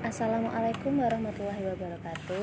Assalamualaikum warahmatullahi wabarakatuh.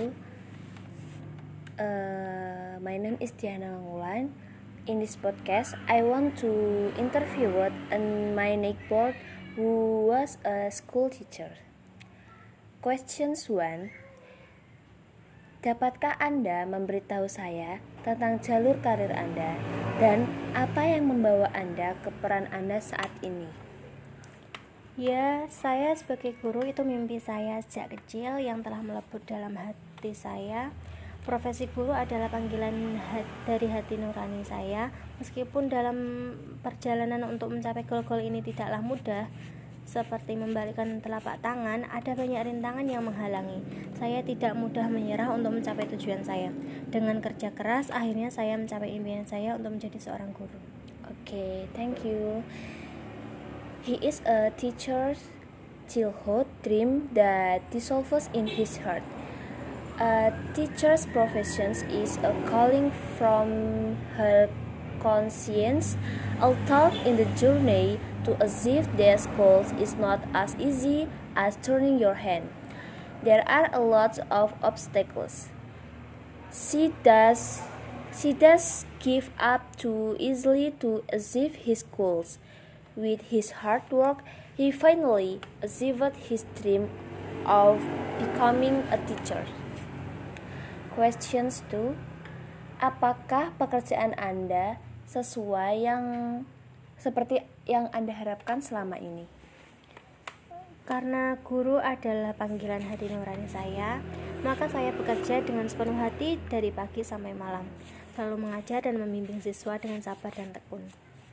My name is Diana Langulan. In this podcast, I want to interview my neighbor who was a school teacher. Questions 1. Dapatkah Anda memberitahu saya tentang jalur karir Anda dan apa yang membawa Anda ke peran Anda saat ini? Ya, saya sebagai guru itu mimpi saya sejak kecil yang telah melebur dalam hati saya. Profesi guru adalah panggilan dari hati nurani saya. Meskipun dalam perjalanan untuk mencapai goal-goal ini tidaklah mudah, seperti membalikkan telapak tangan, ada banyak rintangan yang menghalangi. Saya tidak mudah menyerah untuk mencapai tujuan saya. Dengan kerja keras, akhirnya saya mencapai impian saya untuk menjadi seorang guru. Okay, thank you. He is a teacher's childhood dream that dissolves in his heart. A teacher's profession is a calling from her conscience, although in the journey to achieve their goals is not as easy as turning your hand. There are a lot of obstacles. She does give up too easily to achieve his goals. With his hard work, he finally achieved his dream of becoming a teacher. Questions 2. Apakah pekerjaan Anda sesuai seperti yang Anda harapkan selama ini? Karena guru adalah panggilan hati nurani saya, maka saya bekerja dengan sepenuh hati dari pagi sampai malam, selalu mengajar dan membimbing siswa dengan sabar dan tekun.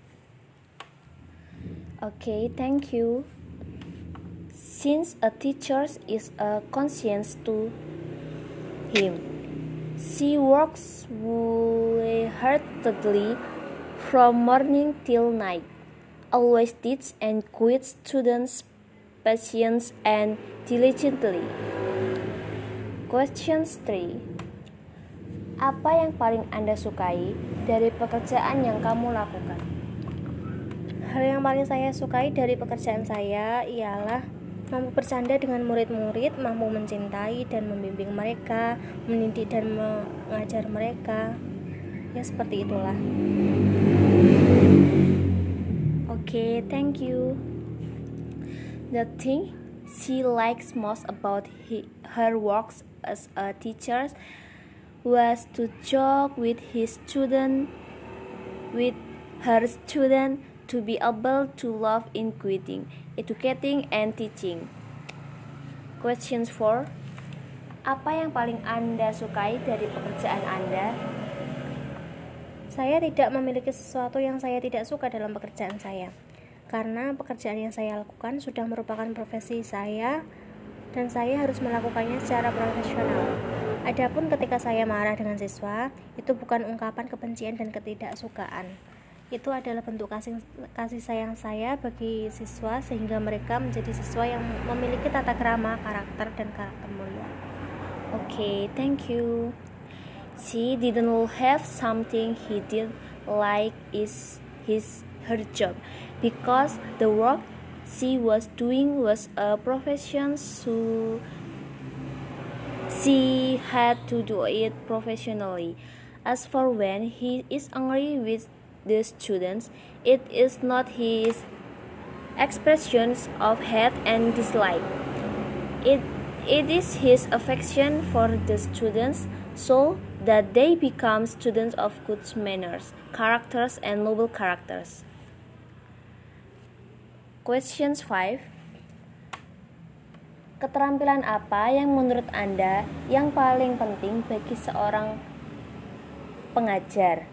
Okay, thank you. Since a teacher is a conscience to him, she works wholeheartedly from morning till night, always teach and guide students patiently and diligently. Questions 3. Apa yang paling Anda sukai dari pekerjaan yang kamu lakukan? Hal yang paling saya sukai dari pekerjaan saya ialah mampu bercanda dengan murid-murid, mampu mencintai dan membimbing mereka, mendidik dan mengajar mereka. Ya, seperti itulah. Okay, thank you. The thing she likes most about her works as a teacher was to joke with her student, to be able to love in guiding, educating, and teaching. Questions 4. Apa yang paling Anda sukai dari pekerjaan Anda? Saya tidak memiliki sesuatu yang saya tidak suka dalam pekerjaan saya, karena pekerjaan yang saya lakukan sudah merupakan profesi saya dan saya harus melakukannya secara profesional. Adapun ketika saya marah dengan siswa, itu bukan ungkapan kebencian dan ketidaksukaan. Itu adalah bentuk kasih sayang saya bagi siswa sehingga mereka menjadi siswa yang memiliki tata krama, karakter, dan karakter mulia. Okay, thank you. She didn't have something he did like her job, because the work she was doing was a profession, so she had to do it professionally. As for when he is angry with the students, it is not his expressions of hate and dislike. It is his affection for the students, so that they become students of good manners, characters, and noble characters. Questions 5. Keterampilan apa yang menurut Anda yang paling penting bagi seorang pengajar?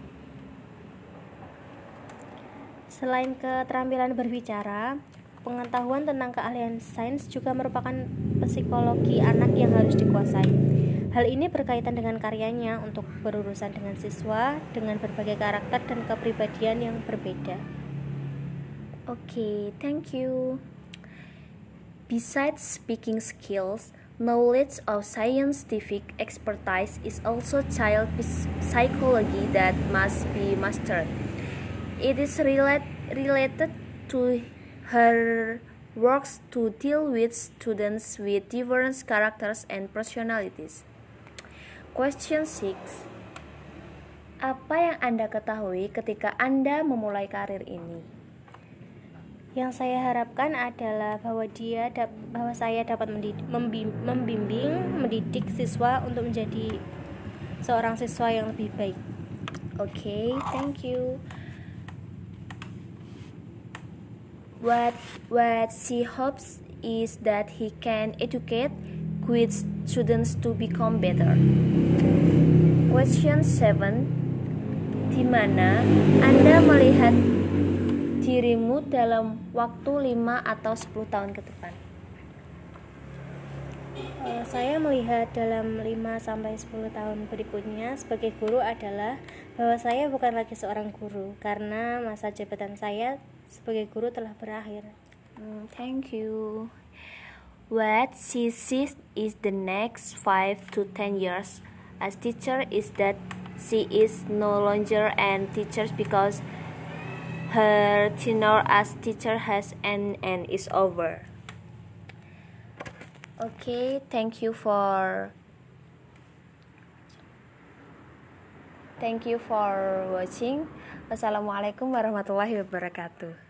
Selain keterampilan berbicara, pengetahuan tentang keahlian sains juga merupakan psikologi anak yang harus dikuasai. Hal ini berkaitan dengan karyanya untuk berurusan dengan siswa dengan berbagai karakter dan kepribadian yang berbeda. Okay, thank you. Besides speaking skills, knowledge of scientific expertise is also child psychology that must be mastered. It is related to her works to deal with students with different characters and personalities. Question 6. Apa yang Anda ketahui ketika Anda memulai karir ini? Yang saya harapkan adalah bahwa saya dapat membimbing, mendidik siswa untuk menjadi seorang siswa yang lebih baik. Okay, thank you. What she hopes is that he can educate good students to become better. Question 7. Di mana Anda melihat dirimu dalam waktu 5 atau 10 tahun ke depan? Saya melihat dalam 5-10 tahun berikutnya sebagai guru adalah bahwa saya bukan lagi seorang guru karena masa jabatan saya sebagai guru telah berakhir. Thank you. What she sees is the next 5 to 10 years as teacher is that she is no longer an teacher because her tenure as teacher has ended and is over. Okay, thank you for watching. Wassalamualaikum warahmatullahi wabarakatuh.